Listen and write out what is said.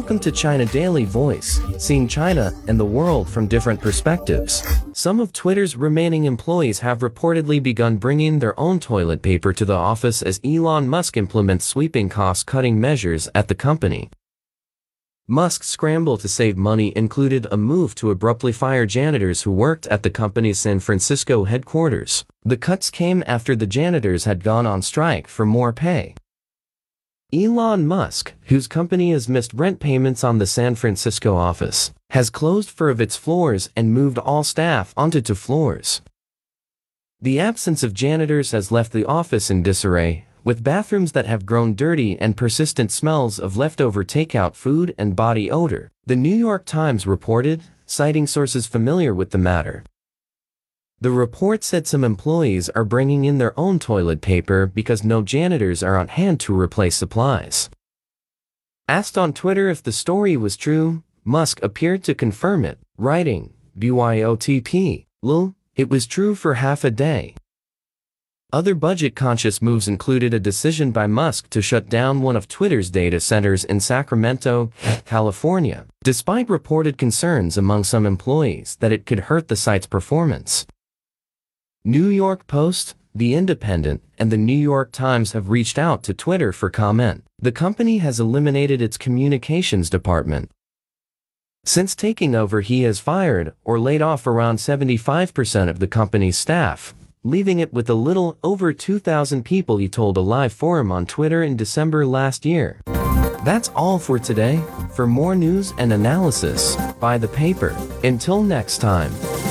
Welcome to China Daily Voice, seeing China and the world from different perspectives. Some of Twitter's remaining employees have reportedly begun bringing their own toilet paper to the office as Elon Musk implements sweeping cost-cutting measures at the company. Musk's scramble to save money included a move to abruptly fire janitors who worked at the company's San Francisco headquarters. The cuts came after the janitors had gone on strike for more pay. Elon Musk, whose company has missed rent payments on the San Francisco office, has closed 4 of its floors and moved all staff onto 2 floors. The absence of janitors has left the office in disarray, with bathrooms that have grown dirty and persistent smells of leftover takeout food and body odor, the New York Times reported, citing sources familiar with the matter. The report said some employees are bringing in their own toilet paper because no janitors are on hand to replace supplies. Asked on Twitter if the story was true, Musk appeared to confirm it, writing, "BYOTP, lol, it was true for half a day." Other budget-conscious moves included a decision by Musk to shut down one of Twitter's data centers in Sacramento, California, despite reported concerns among some employees that it could hurt the site's performance. New York Post, The Independent, and the New York Times have reached out to Twitter for comment. The company has eliminated its communications department. Since taking over, he has fired or laid off around 75% of the company's staff, leaving it with a little over 2,000 people, he told a live forum on Twitter in December last year. That's all for today. For more news and analysis, buy the paper. Until next time.